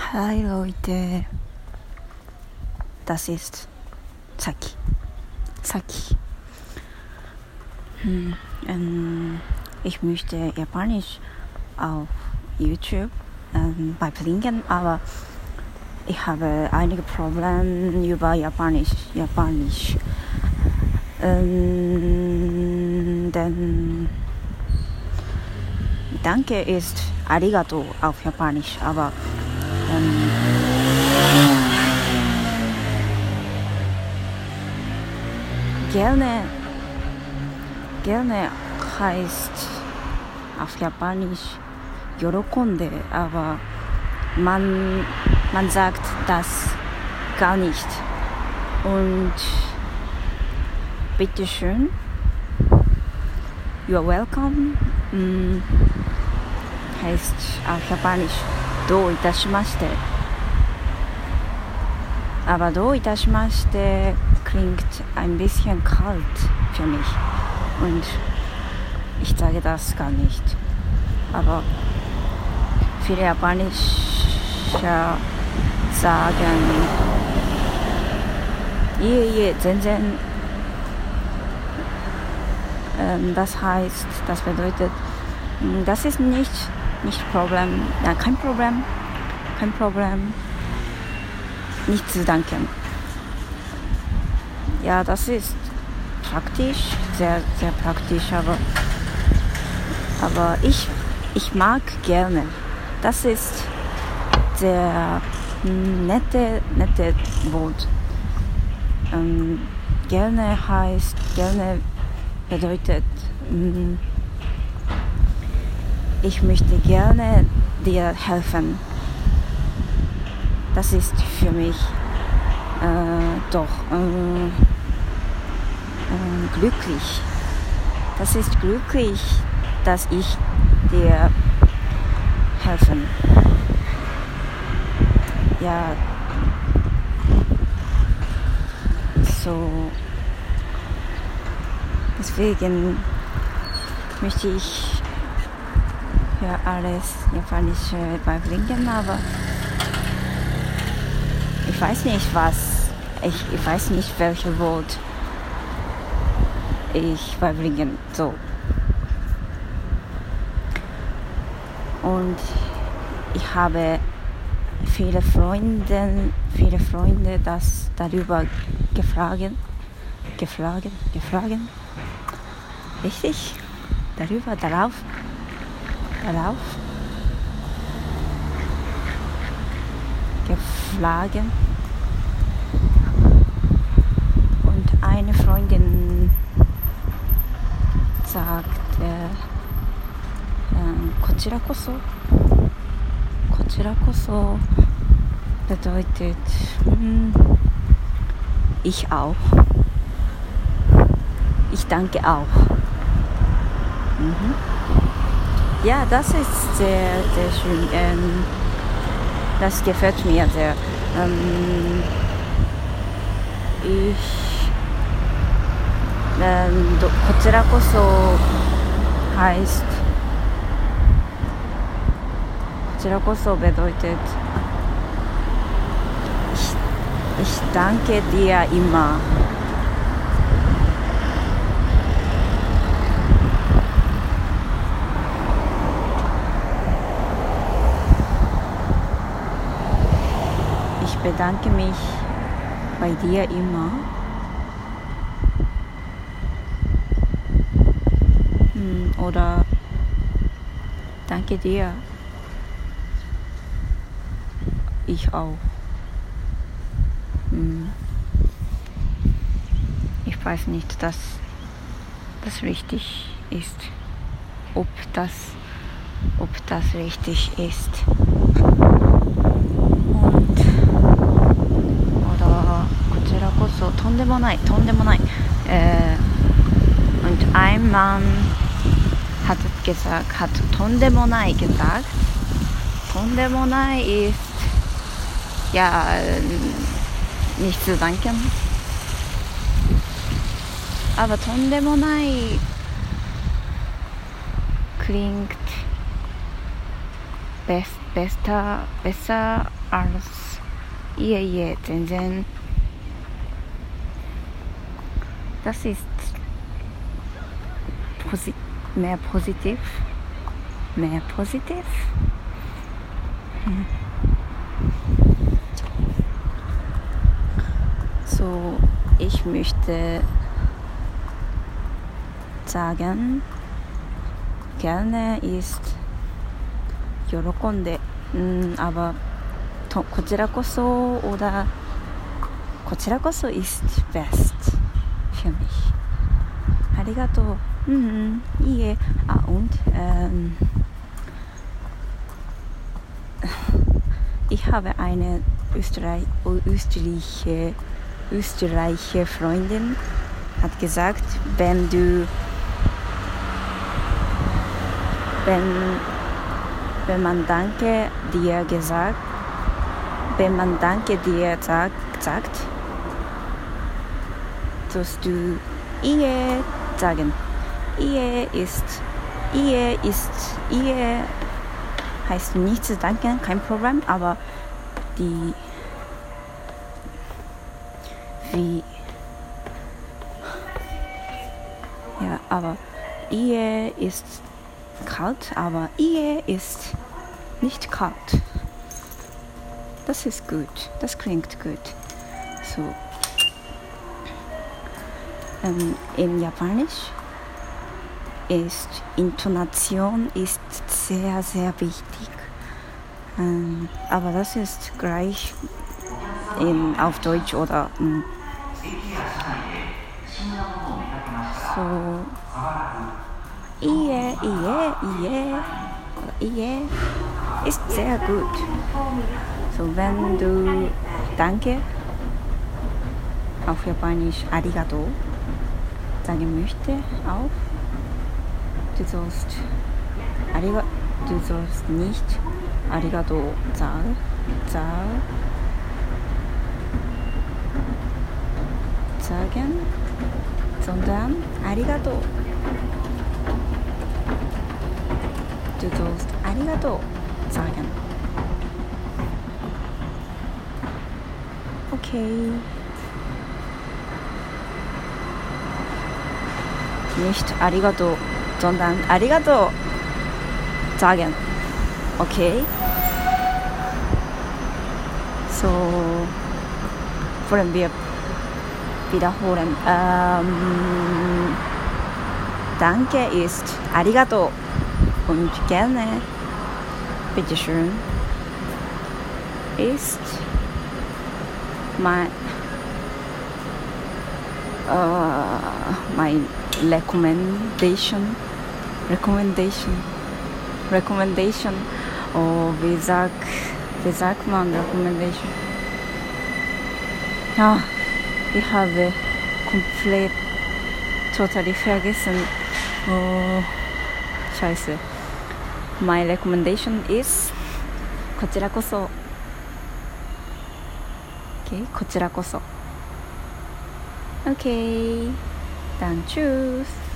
Hi Leute, das ist Saki. Ich möchte Japanisch auf YouTube beibringen, aber ich habe einige Probleme über Japanisch. Denn Danke ist Arigato auf Japanisch, aber gerne heißt auf Japanisch Yorokonde, aber man sagt das gar nicht. Und bitteschön, you're welcome, heißt auf Japanisch Do itashimashite. Aber Do itashimashite klingt ein bisschen kalt für mich und ich sage das gar nicht. Aber viele Japanischer sagen zenzen. Das bedeutet, das ist nicht Problem, ja, kein Problem, nicht zu danken. Ja, das ist praktisch, sehr, sehr praktisch, aber ich mag gerne. Das ist sehr nette Wort. Gerne bedeutet, ich möchte gerne dir helfen. Das ist für mich glücklich. Das ist glücklich, dass ich dir helfen. Ja, so deswegen möchte ich für alles Japanische beibringen, aber ich weiß nicht was. Ich weiß nicht, welches Wort ich beibringen soll. Und ich habe viele Freunde das darüber gefragt. Richtig? Darauf. Gefragt. Und eine Freundin sagte, こちらこそ bedeutet ich auch. Ich danke auch. Ja, das ist sehr, sehr schön. Das gefällt mir sehr. Kochira koso heißt, Kochira koso bedeutet, ich danke dir immer. Ich bedanke mich bei dir immer. Oder danke dir. Ich auch. Ich weiß nicht, dass das richtig ist. Ob das richtig ist. Oder こちらこそとんでもない。Und ein Mann hat Tondemmonai gesagt. Tondemmonai ist ja nicht zu danken. Aber Tondemmonai klingt best besser als全然das ist mehr positiv so ich möchte sagen gerne ist 喜んでaber こちらこそ oder こちらこそ ist best für mich ありがとういいえund ich habe eine österreichische Freundin hat gesagt wenn man Danke dir sagt, sollst du Ihr sagen. Ihr heißt nichts danken, kein Problem, aber aber Ihr ist kalt, aber Ihr ist nicht kalt. Das ist gut, das klingt gut. So. Im Japanisch ist Intonation ist sehr, sehr wichtig. Aber das ist gleich auf Deutsch oder so. Ie ist sehr gut. So, wenn du Danke auf Japanisch Arigato sagen möchtest, auch du sollst nicht Arigato sagen, sondern Arigato. Du sollst Arigato sagen. Okay. Nicht Arigato, sondern Arigato sagen. Okay. So wollen wir wiederholen. Danke ist Arigato und gerne, bitteschön, ist mein recommendation. Oh, wie sagt man recommendation? Ja, ich habe komplett totally vergessen. Oh, scheiße. My recommendation is こちらこそ Okay, こちらこそ Okay, dann tschüss.